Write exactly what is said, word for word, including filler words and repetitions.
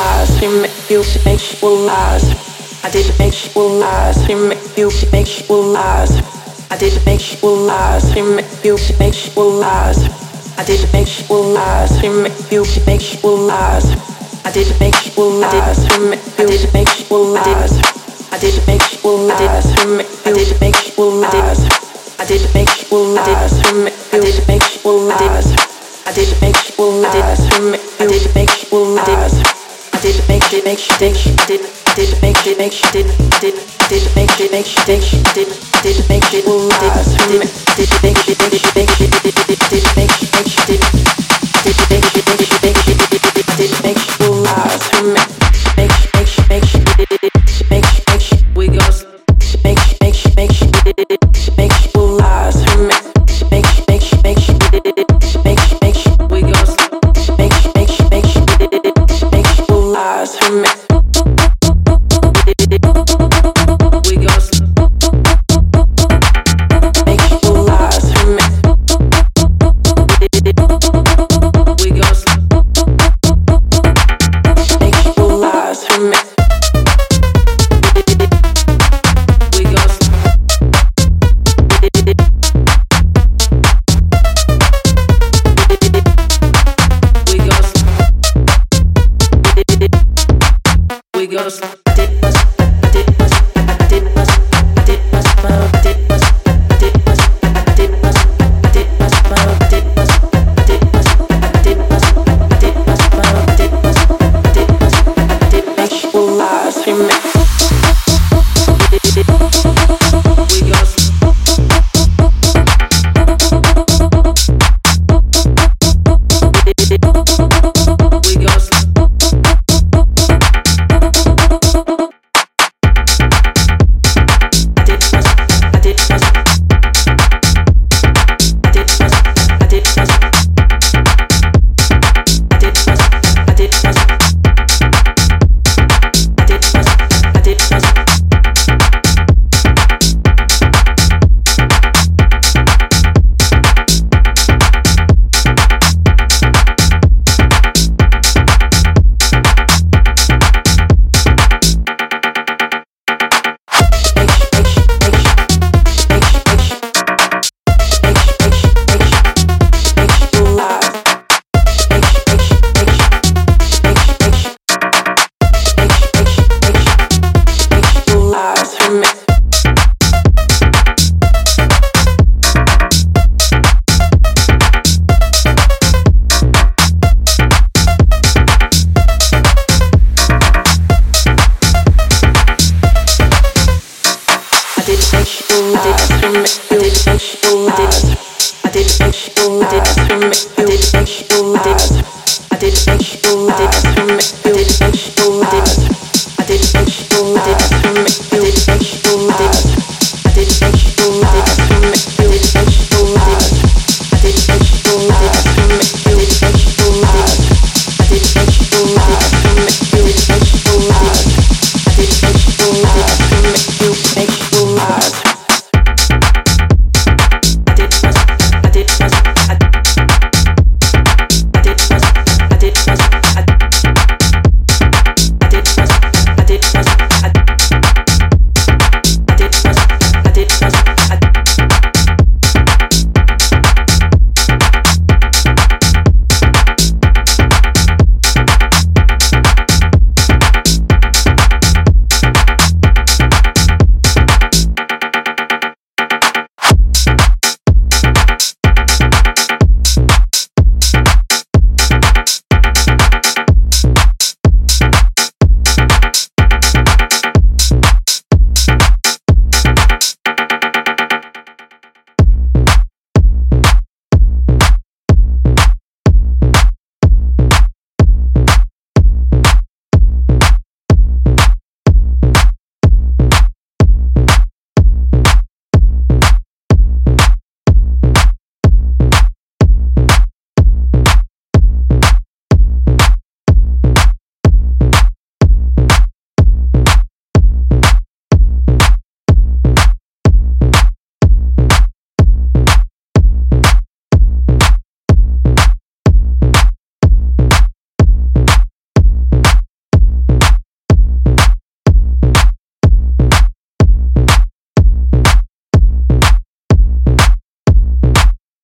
lies, we make you make you lies. I did make you lies, we make you make you lies. I did make you lies, we make you make you lies. I did make you lies, we make you make you lies. I did make you lies, we make you make you lies. I did make you lies, we make you make you lies. I did make you lies, we make you make you lies. I did make you lies, we make you make you lies. I did make you make you make you did I did make you make you did I did I did make you make you make you did I did make you lies, we make did make you make you make you did did make you make you did did make you make you make you did did make you lies, we make make you make you make you did make you make you we go make you make you make you did make you lies, we make make you make you make you did make you make you we go make you make you make you did make you lies, we make we go make you lies, we make we go make you lies, we make we go we go we go I did was I did was I did was I did was I did was I did was I did was I did was I did was I did was I did was I did was I did was I did was I did make you lies, we make we go I did make you lies, I did make you lies, I did make you lies.